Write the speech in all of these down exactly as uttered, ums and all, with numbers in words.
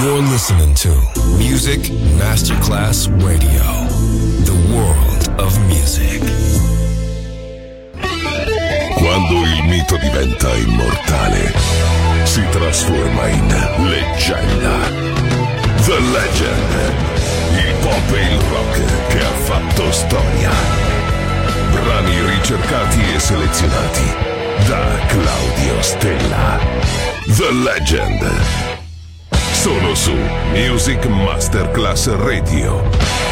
You're listening to Music Masterclass Radio, the world of music. Quando il mito diventa immortale, si trasforma in leggenda. The Legend, il pop e il rock che ha fatto storia. Brani ricercati e selezionati da Claudio Stella. The Legend. Solo su Music Masterclass Radio.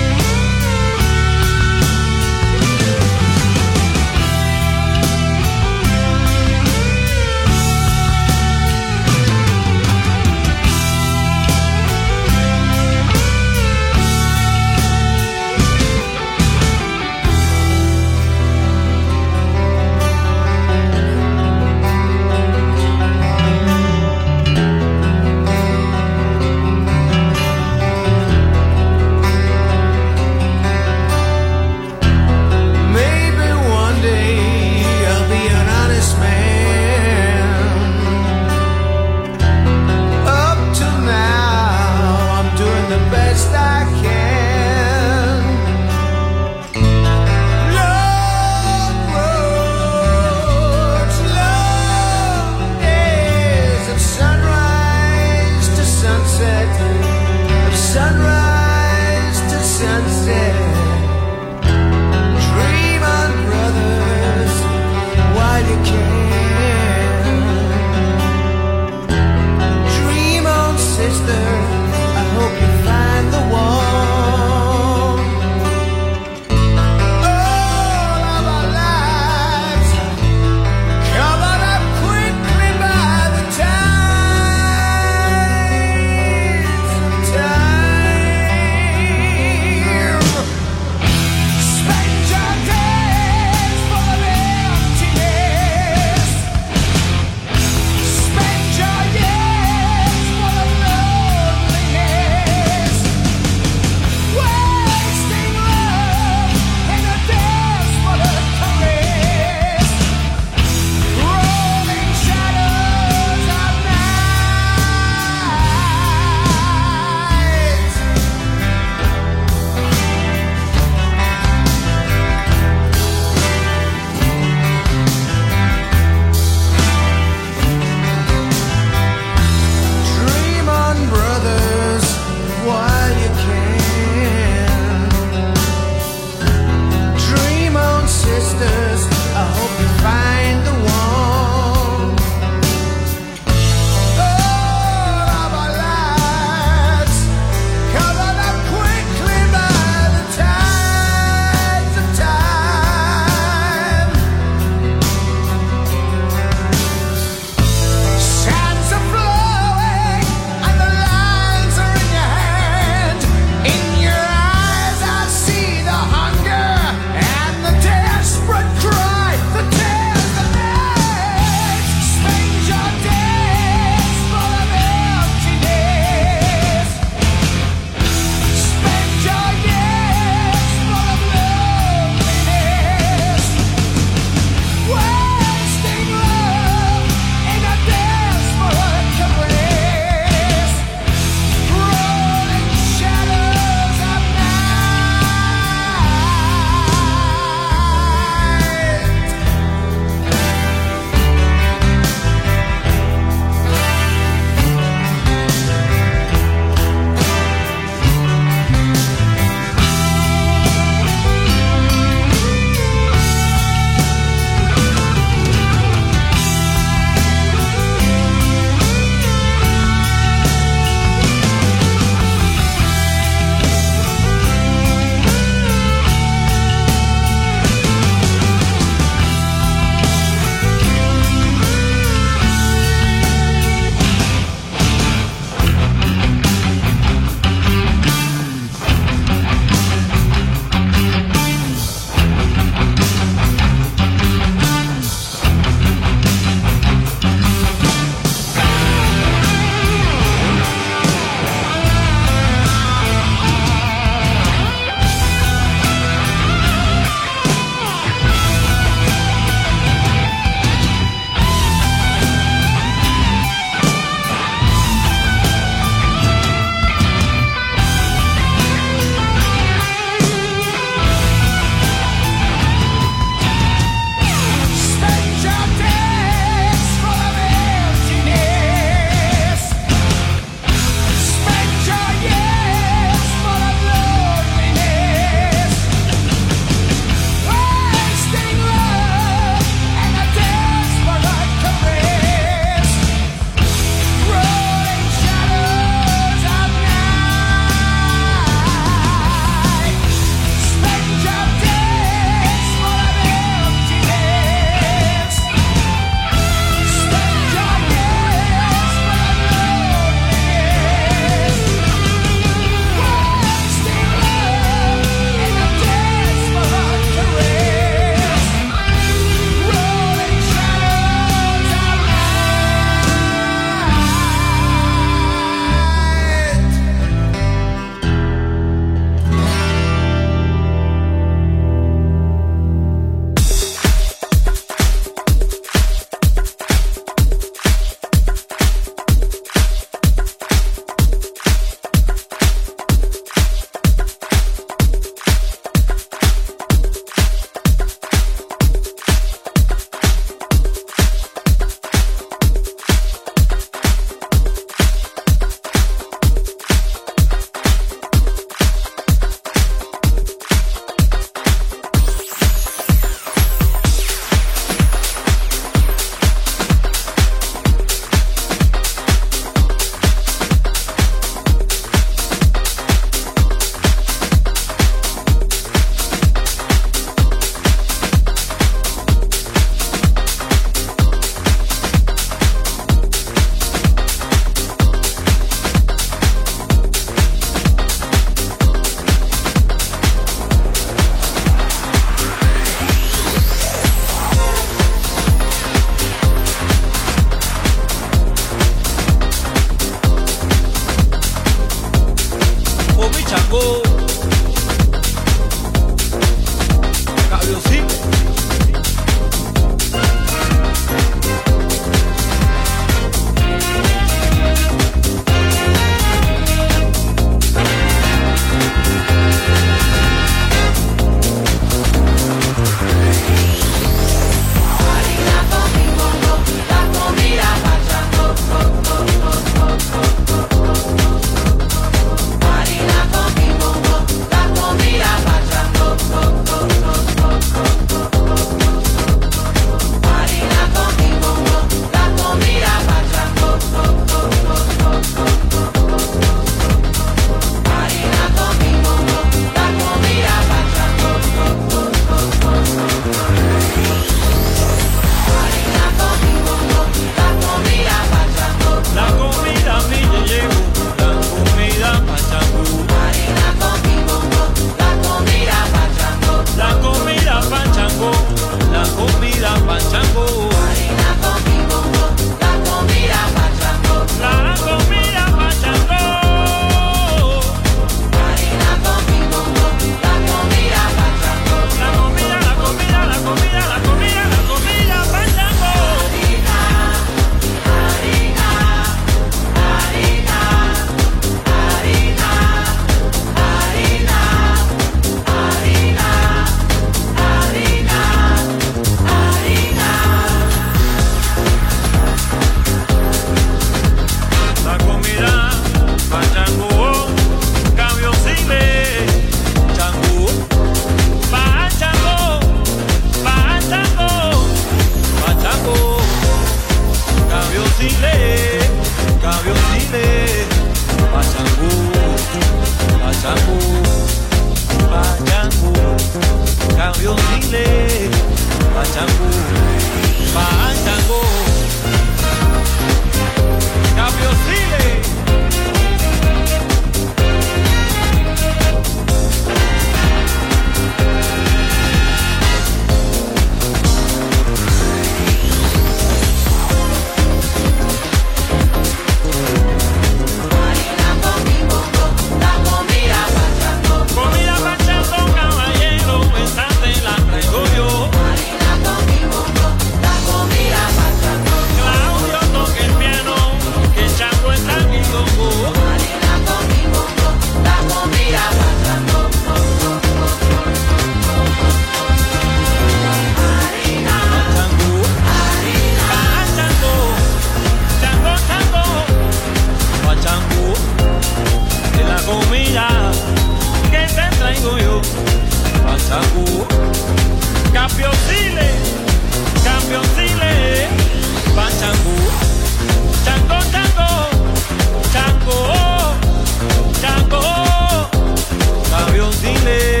Chango, campeoncile, campeoncile, va Chango, Chango, Chango, Chango, Chango, campeoncile.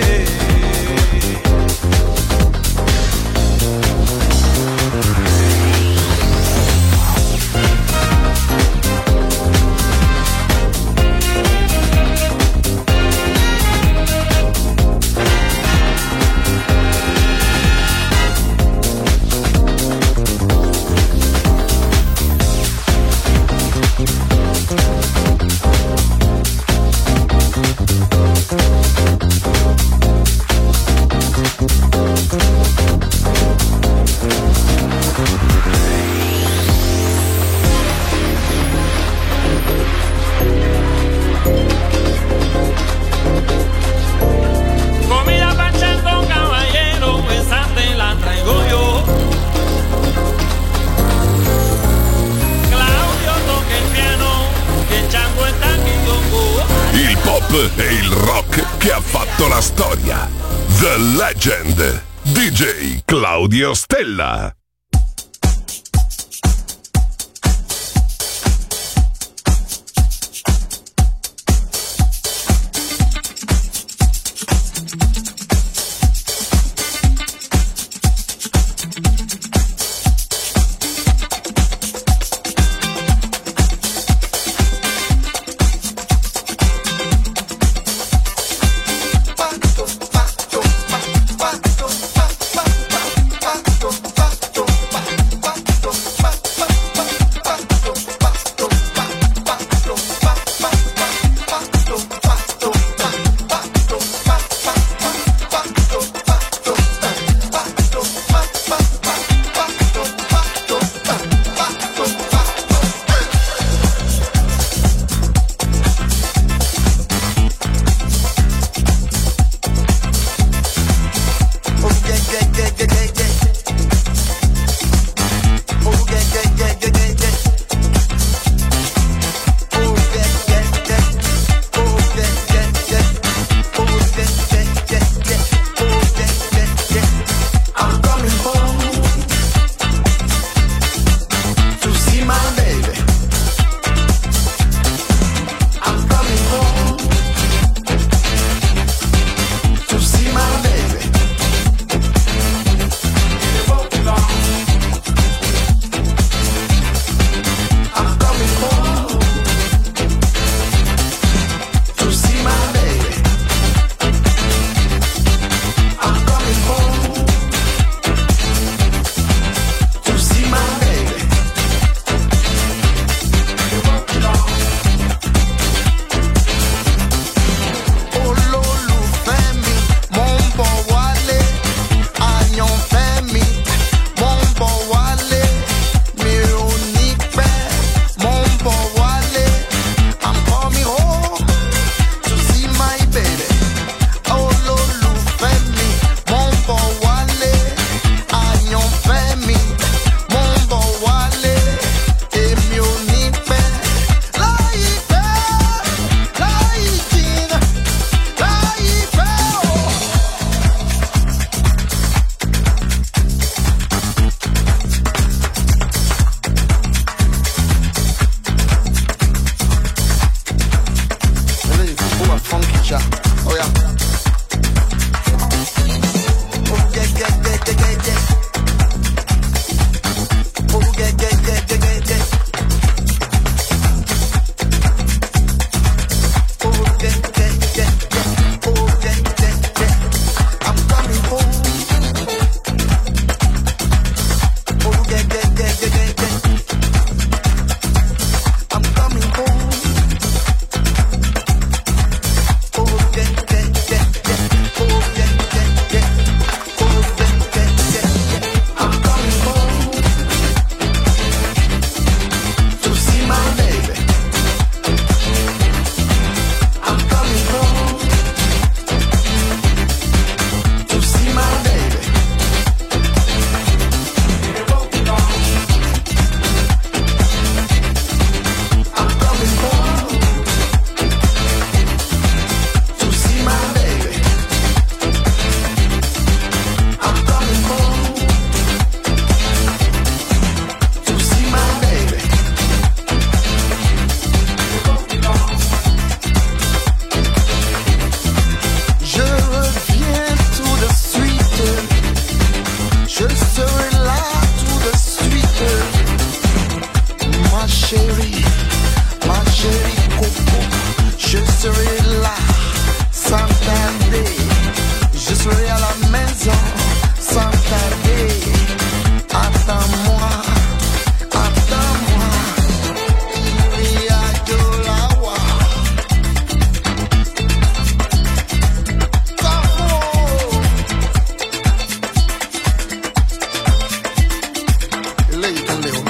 E il rock che ha fatto la storia. The Legend, D J Claudio Stella. Pato, pato, pato, pato, pato, pato, entrer à la maison sans tarder. Attends-moi, attends-moi, Ria Jolawa. Lei con Leo.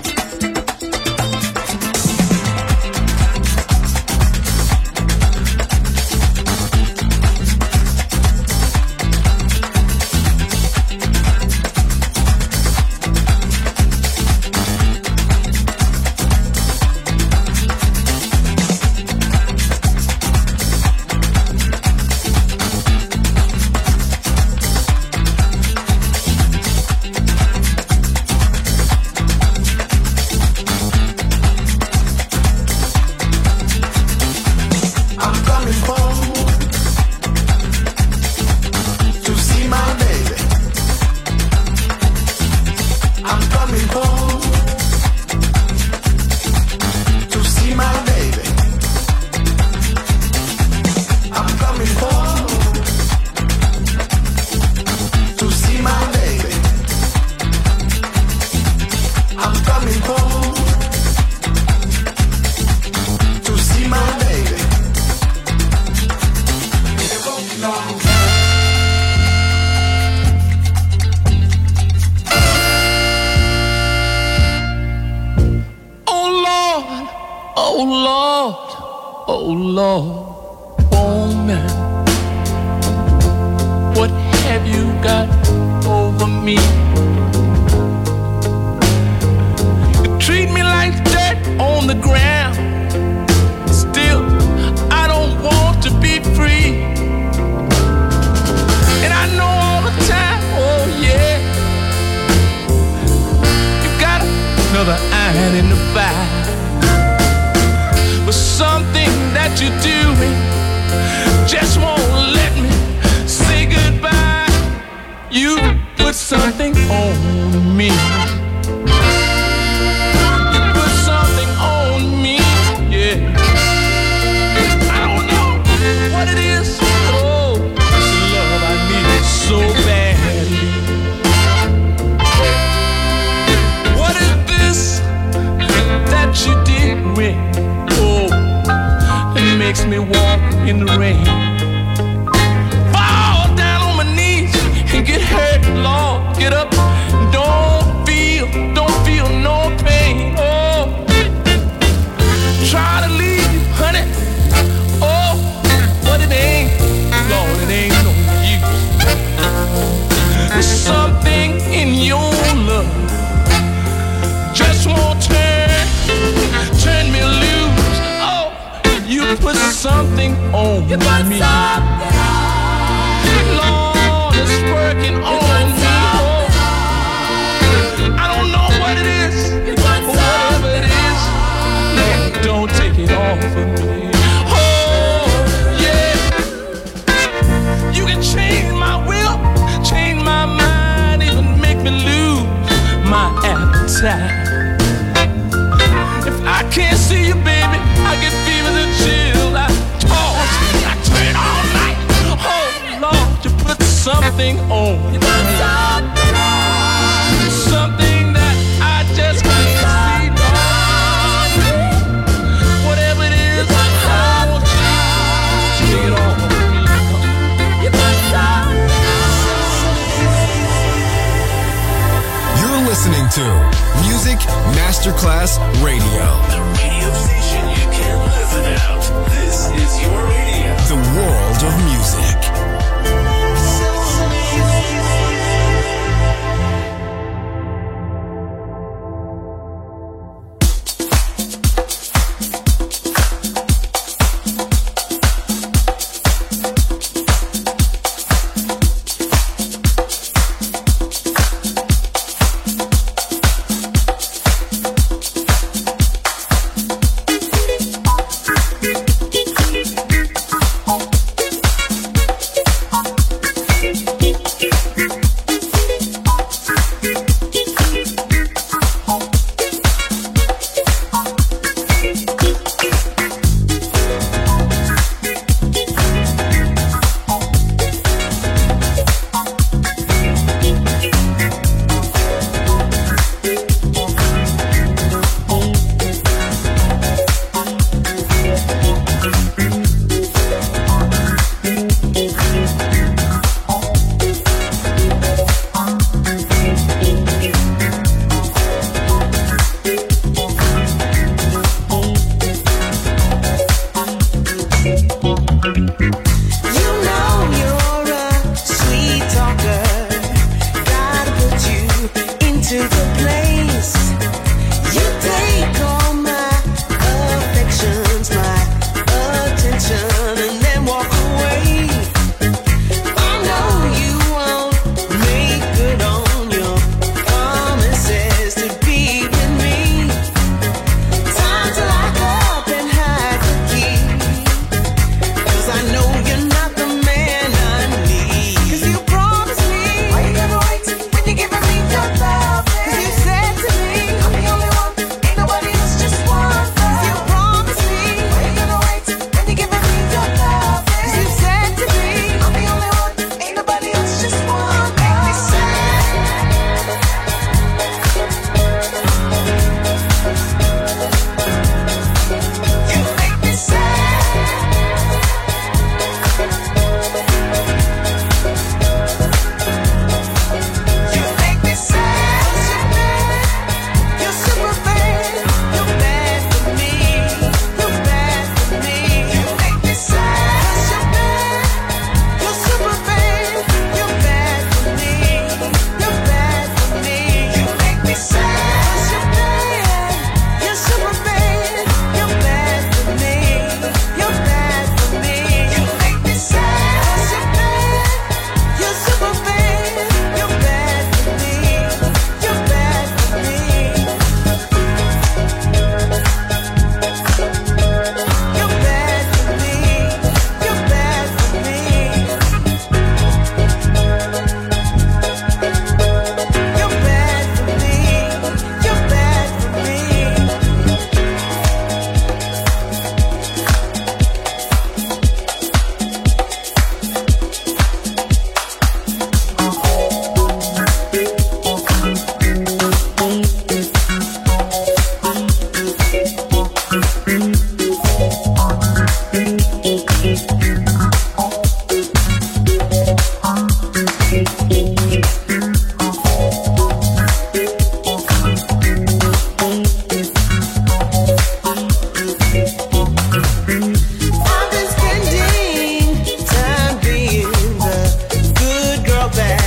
Masterclass Radio. The radio station you can't live without. This is your radio. The world of music.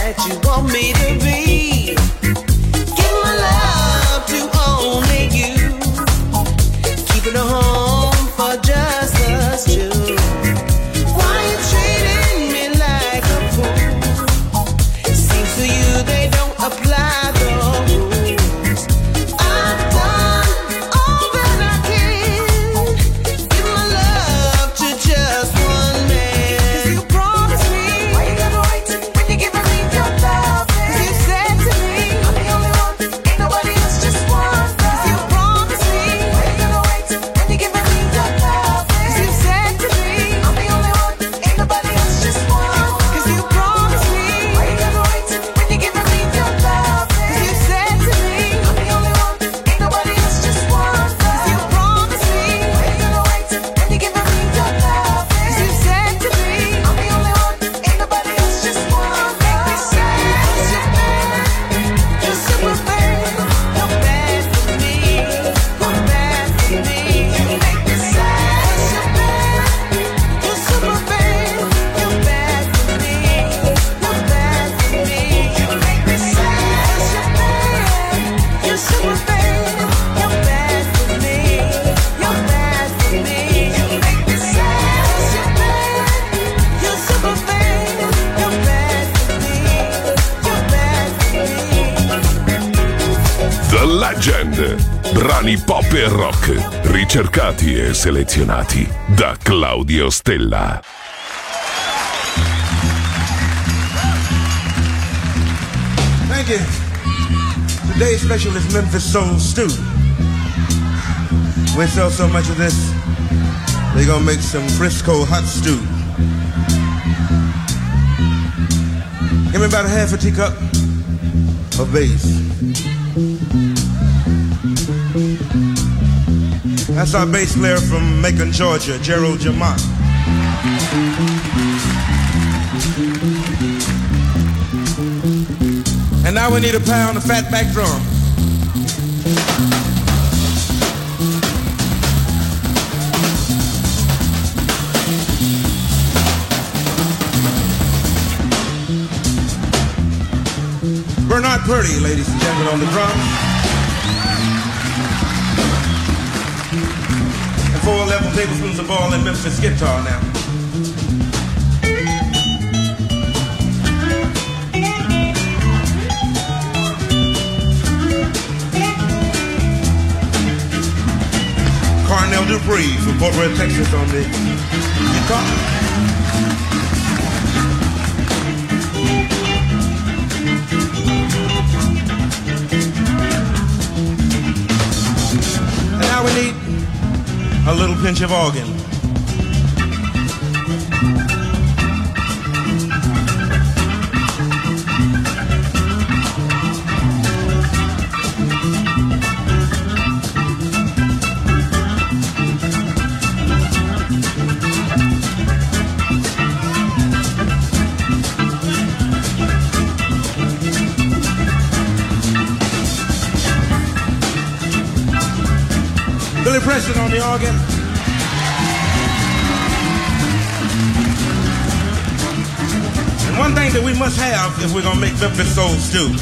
that you want me to be. Give my love to only you. Keeping a home for just us two. Why you treating me like a fool? It seems to you they don't apply the rules. I've done all that I can. Give my love to just one man. 'Cause you promised me. Why you gotta wait when you give me your love? 'Cause you said to me, I'm the only one, ain't nobody else, just one. 'Cause you promised me. Why you gotta wait when you give me your love? 'Cause you said to me, I'm the only one, ain't nobody else, just one. 'Cause you promised me. Why you gotta wait when you give me your love? 'Cause you said to me, I'm the only one, ain't nobody else, just one. 'Cause you promised me. Why you gotta wait when you give me your love? 'Cause you said to me, I'm the only one, ain't nobody else, just one. Make me sad, you're bad, you're super bad, you're bad for me, you're bad for me. You make me sad, you're bad, you're super bad, you're bad for me, you're bad for me. You make me sad, you're bad, you're super bad, you're bad for me, you're bad for me. You make me sad, you're bad, you're super bad, you're bad for me, you're bad for me. The Legend. Brani pop e rock, ricercati e selezionati da Claudio Stella. Thank you. Today's special is Memphis Soul Stew. We sell so much of this, they're gonna make some Frisco hot stew. Give me about a half a teacup of bass. That's our bass player from Macon, Georgia, Gerald Jamont. And now we need a pound of fatback drum. Bernard Purdy, ladies and gentlemen, on the drums. And four level tablespoons of ball and Memphis guitar now. Carnell Dupree from Fort Worth, Texas on the guitar. And now we need a little pinch of organ. Billy Preston on the organ. And one thing that we must have if we're gonna make Memphis Soul Stew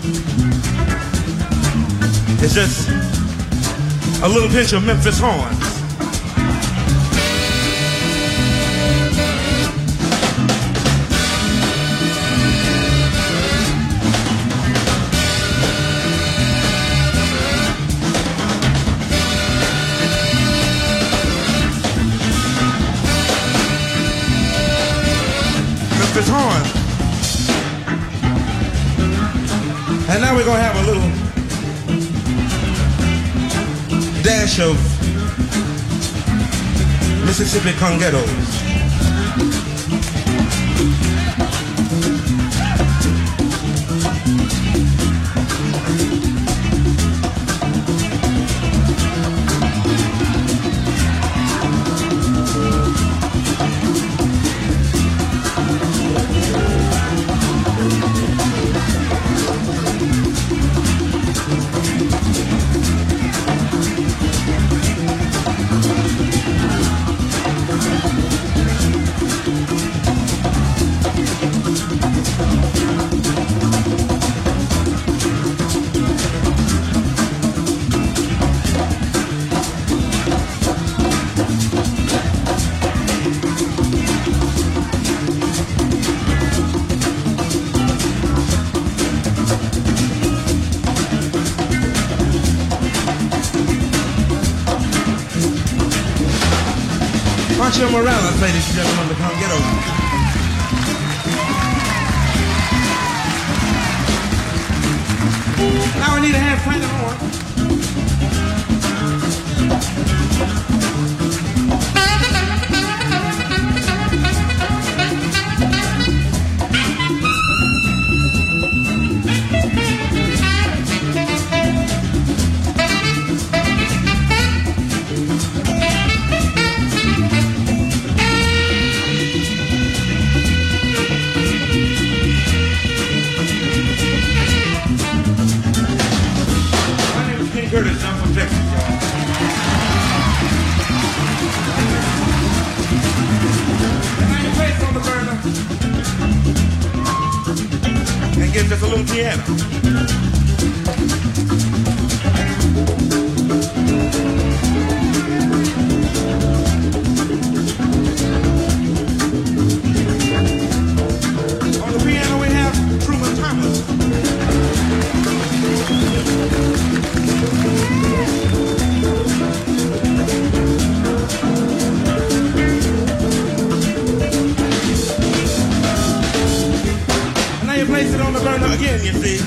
is just a little pinch of Memphis horns. Memphis horn. And now we're gonna have a little dash of Mississippi congettos. Marshall Morales, ladies and gentlemen, to come get over. Now I need a hand playing the horn. Curtis, I'm from Texas, y'all. And now you place on the burner and get just a little piano. On the piano we have Truman Thomas. Place it on the burner again, you see.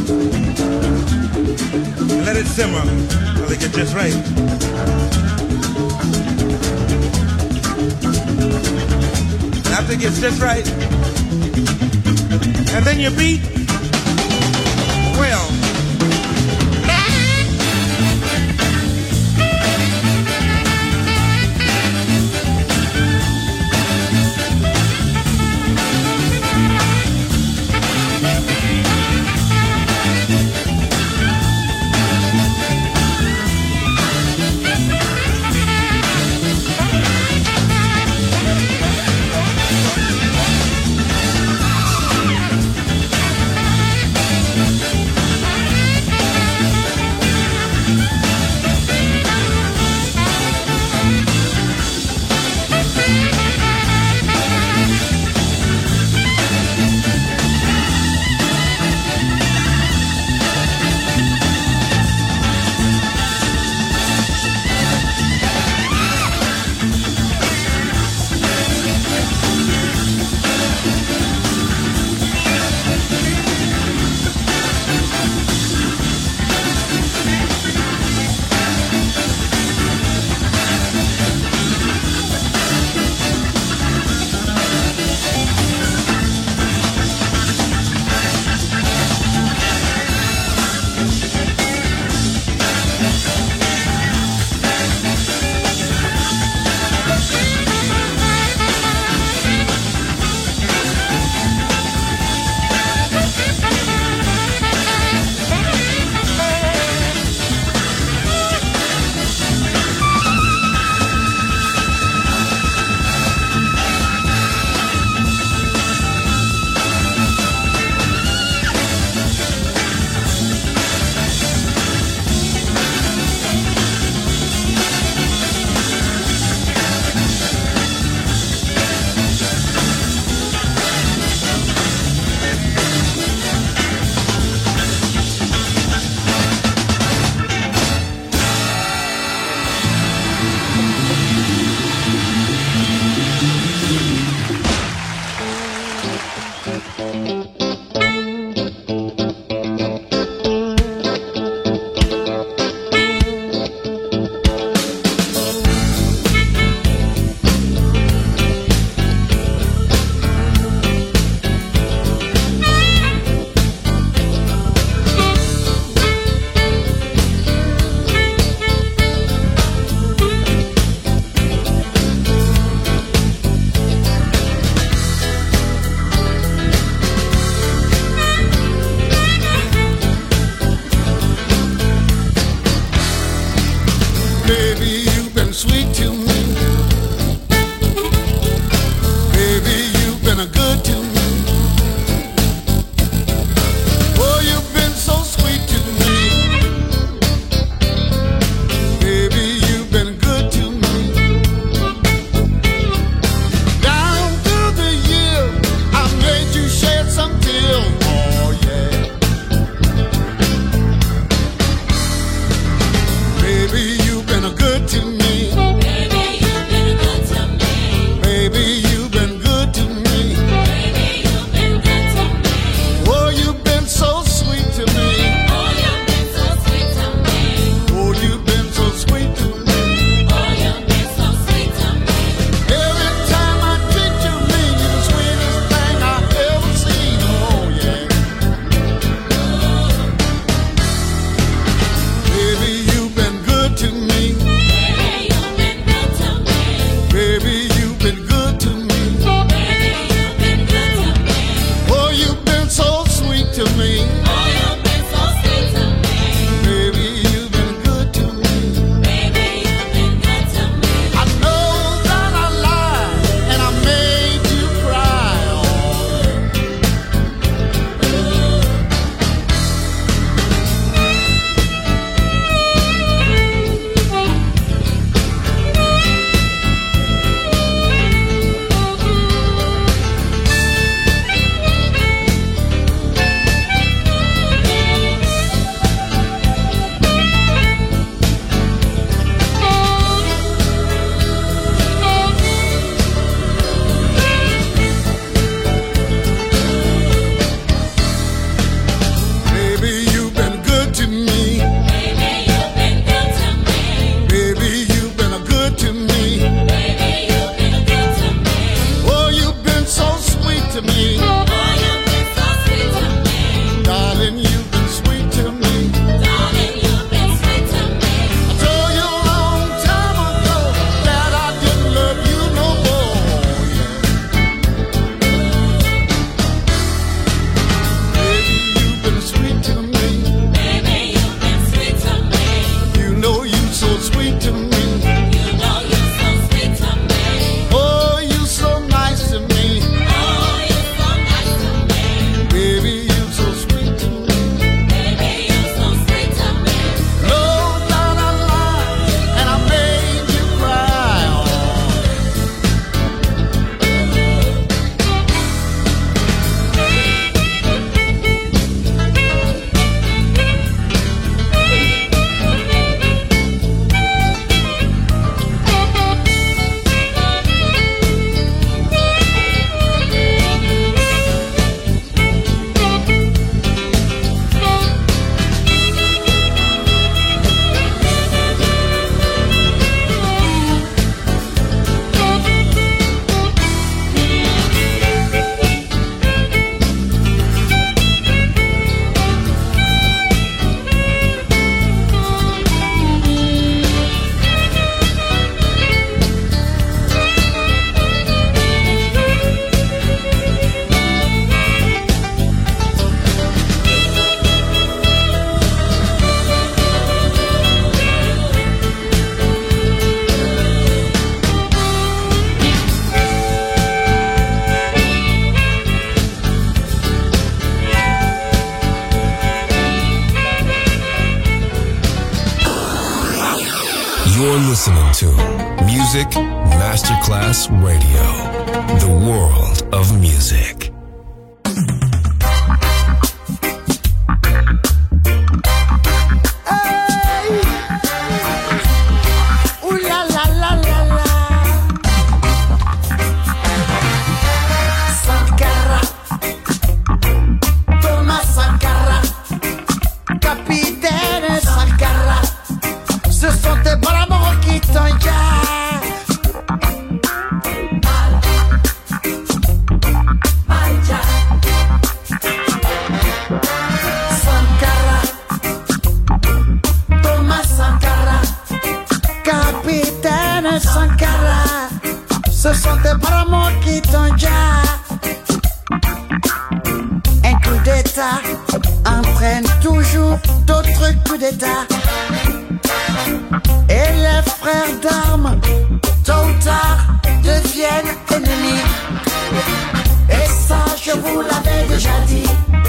And let it simmer until it gets just right. And after it gets just right, and then you beat, well, You're listening to Music Masterclass Radio, the world of music. Hey. Ooh la la la la la. Sankara, Thomas Sankara, capitaine Sankara. Ce sont tes bras qui t'engagent. Sankara, Thomas Sankara, capitaine Sankara. Ce sont tes bras qui t'engagent. Un coup d'état entraîne toujours d'autres coups d'état. Et les frères d'armes, tôt ou tard, deviennent ennemis. Et ça, je vous l'avais déjà dit.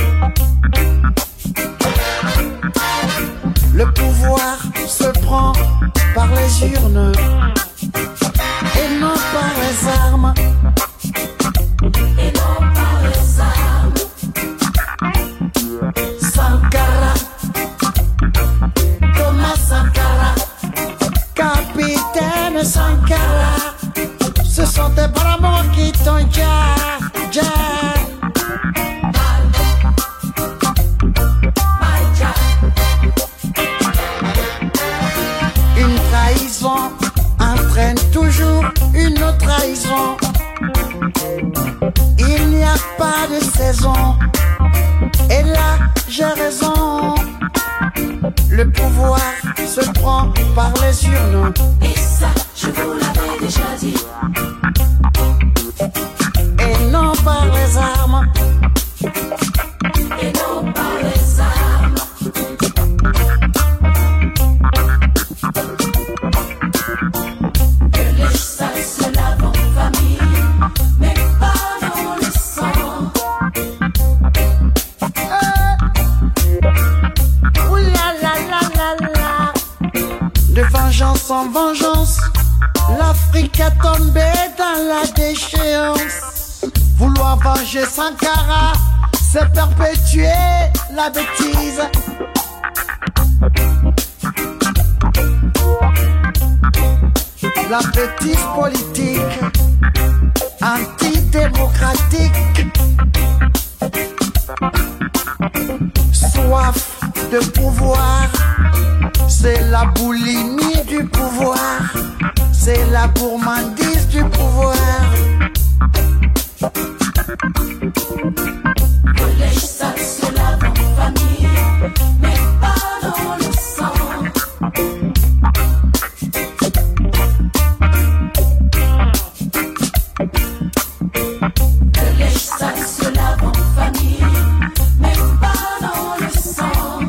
Le pouvoir se prend par les urnes et non par les armes. Et non par les armes. Sankara, Thomas Sankara, capitaine Sankara, ce sont tes bras qui t'ont déjà, déjà. Une trahison entraîne toujours une autre trahison. Il n'y a pas de saison. Et là, j'ai raison. Le pouvoir se prend par les urnes. Et ça, je vous l'avais déjà dit. Et non par les armes. Et non par les armes. Que les salles se lavent en famille, mais pas dans le sang. Euh. Ouh la la la la la. De vengeance en vengeance, l'Afrique a tombé dans la déchéance. Vouloir venger Sankara, c'est perpétuer la bêtise. La bêtise politique, antidémocratique. Soif de pouvoir, c'est la boulimie du pouvoir, c'est la gourmandise du pouvoir. Que les salles se lavent en famille, mais pas dans le sang. Que les salles se lavent en famille, mais pas dans le sang.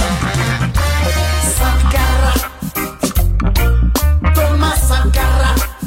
Sankara, Thomas Sankara,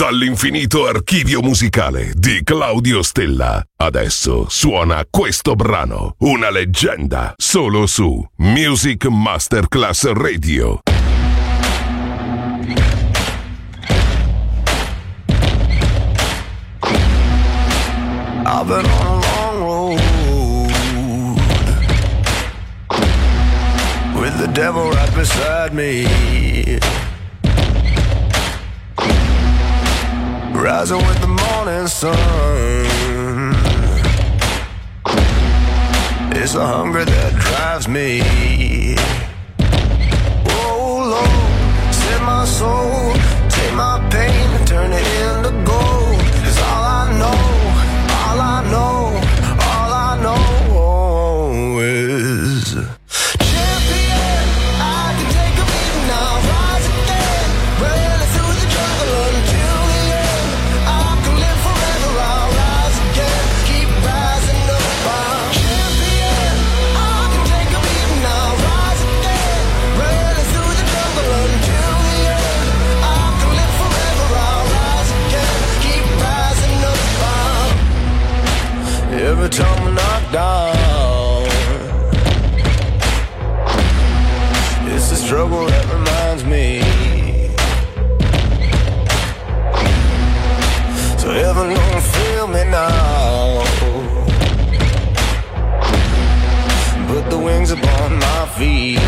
Dall'infinito archivio musicale di Claudio Stella. Adesso suona questo brano, una leggenda, solo su Music Masterclass Radio. I've been on a long road with the devil right beside me, rising with the morning sun. It's the hunger that drives me. Oh Lord, save my soul, take my pain and turn it into gold. 'Cause all I know, all I know, all I know is champion. I can take a beating, I'll rise again, running through the jungle until the end. I can live forever, I'll rise again, keep rising up. I'm champion. I can take a beating, I'll rise again, running through the jungle until the end. I can live forever, I'll rise again, keep rising up. I'm every time I knock down, it's the struggle that reminds me. So heaven don't feel me now. Put the wings upon my feet.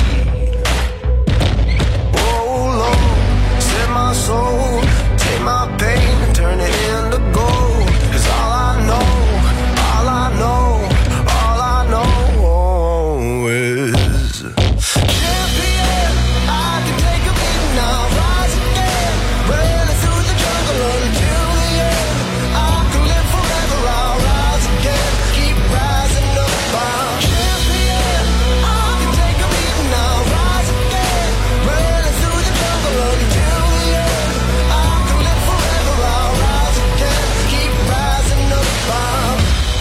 Oh Lord, set my soul, take my pain and turn it into gold. 'Cause all I know, all I know, all I know is champion. I can take a beating, I'll rise again, running through the jungle until the end. I can live forever, I'll rise again, keep rising up. I'm champion. I can take a beating, I'll rise again, running through the jungle until the end. I can live forever, I'll rise again, keep rising up. I'm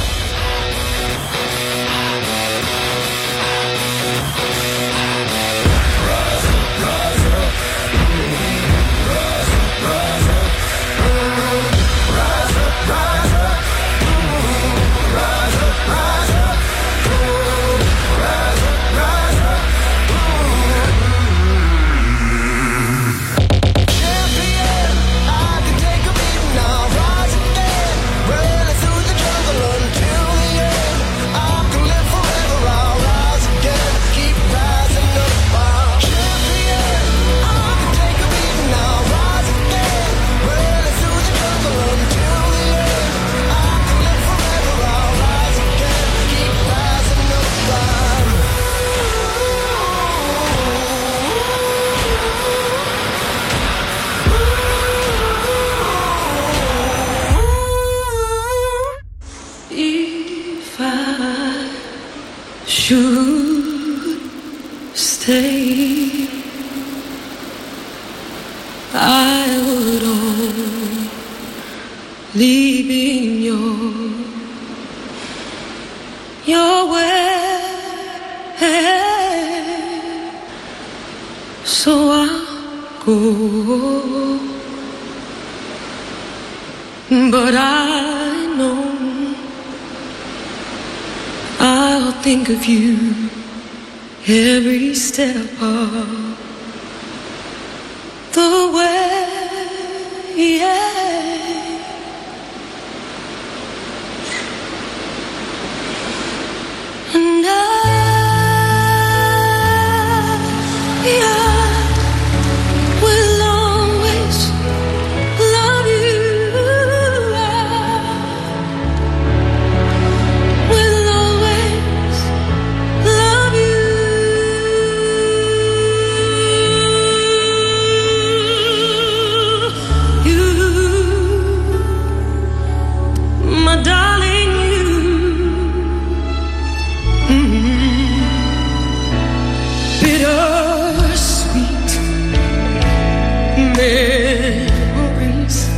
champion. I can take a beating, I'll rise again, running through the jungle until the end. I can live forever, I'll rise again, keep rising up. I'm champion. I can take a beating, I'll rise again, running through the jungle until the end. I can live forever, I'll rise again, keep rising up. If I should stay, I would only be in your your way. So I'll go, but I know I'll think of you every step of the way. Yeah. And I, I will always love you. I will always love you. You, my darling, you. Mm. Bittersweet memories.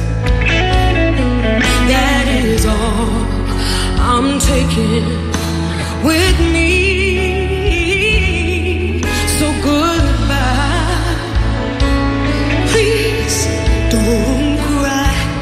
That is all I'm taking with me. So goodbye. Please don't cry.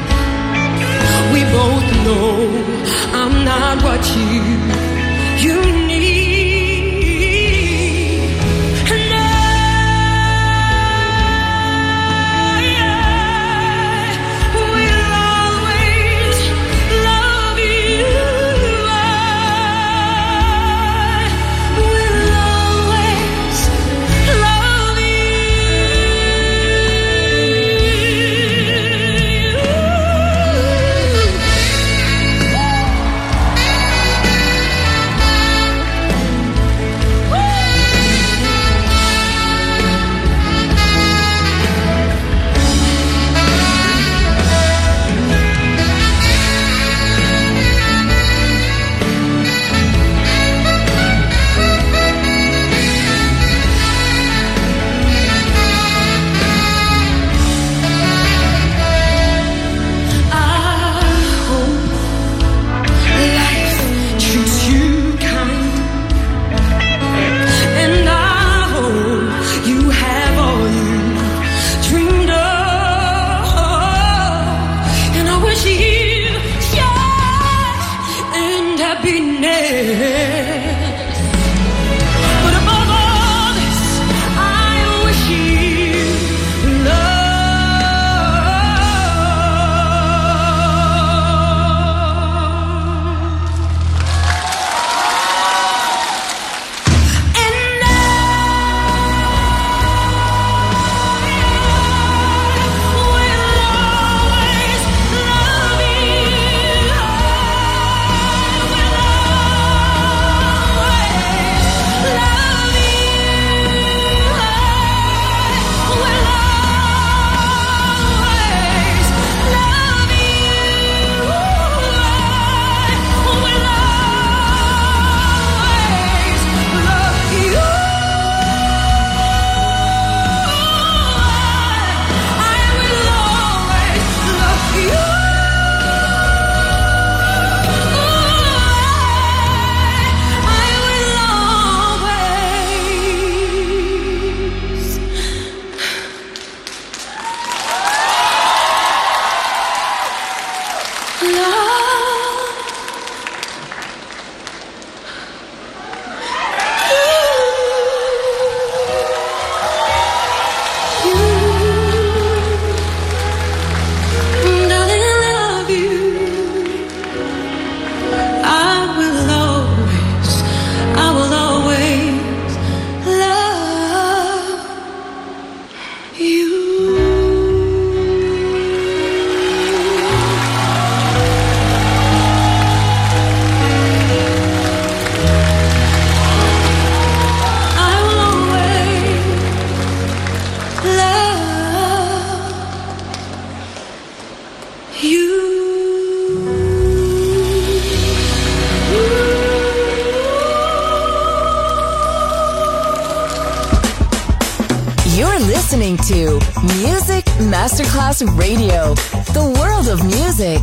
listening to Music Masterclass Radio, the world of music.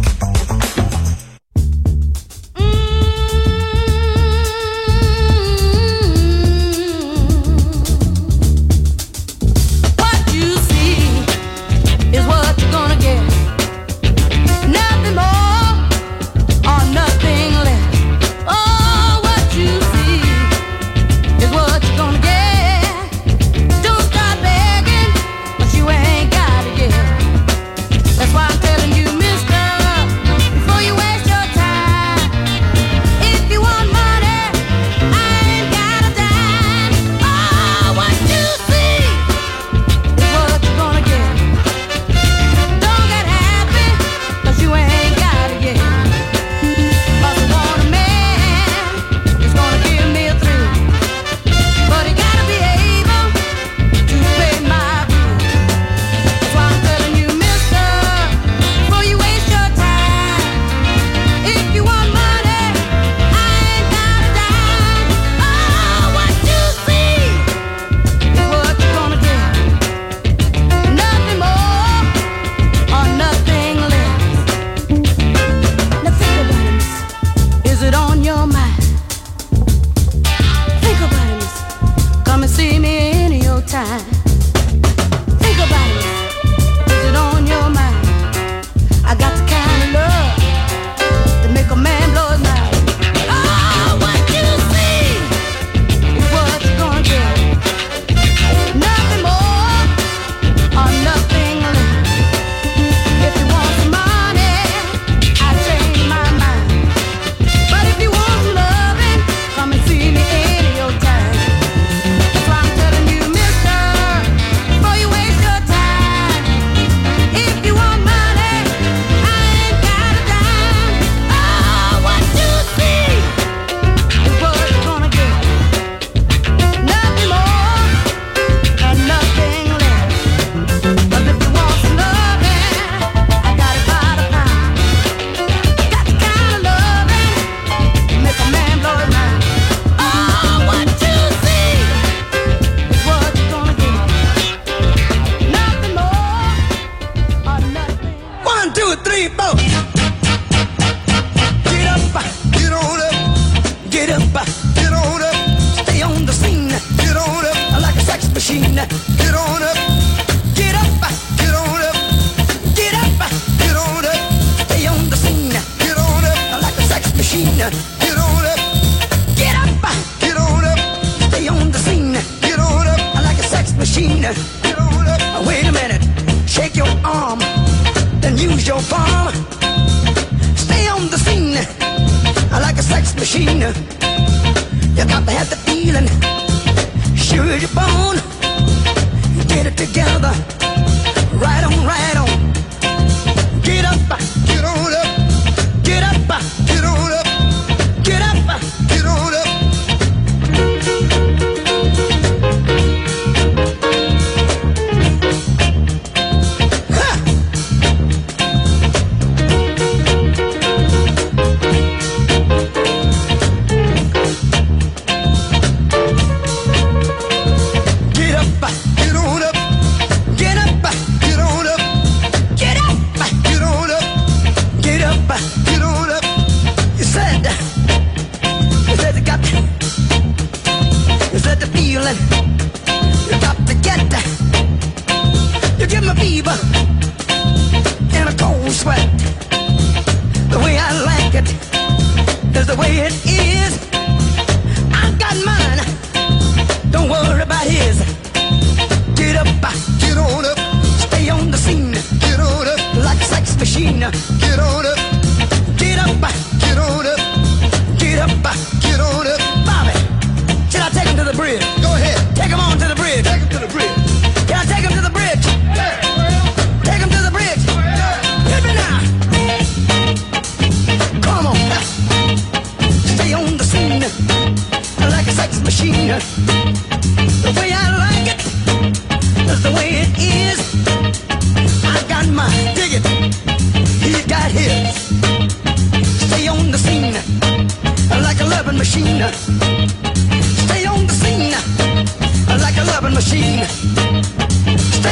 machine.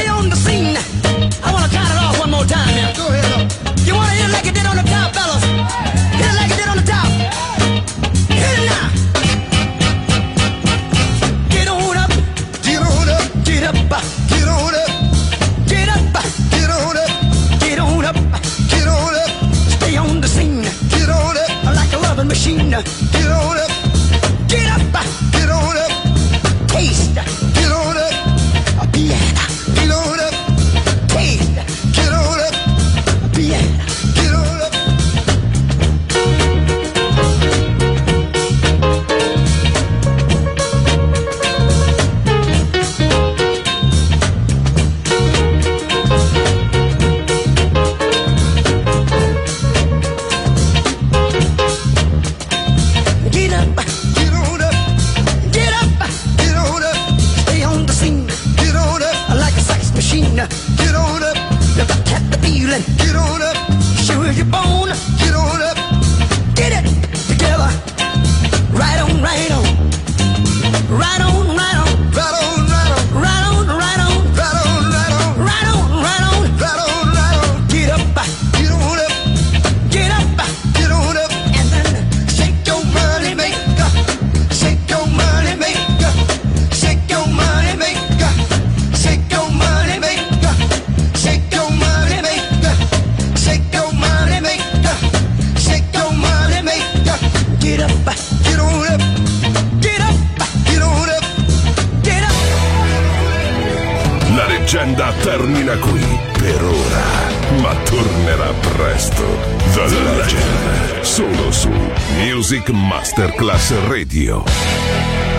leggenda termina qui per ora, ma tornerà presto. The Legend, solo su Music Masterclass Radio.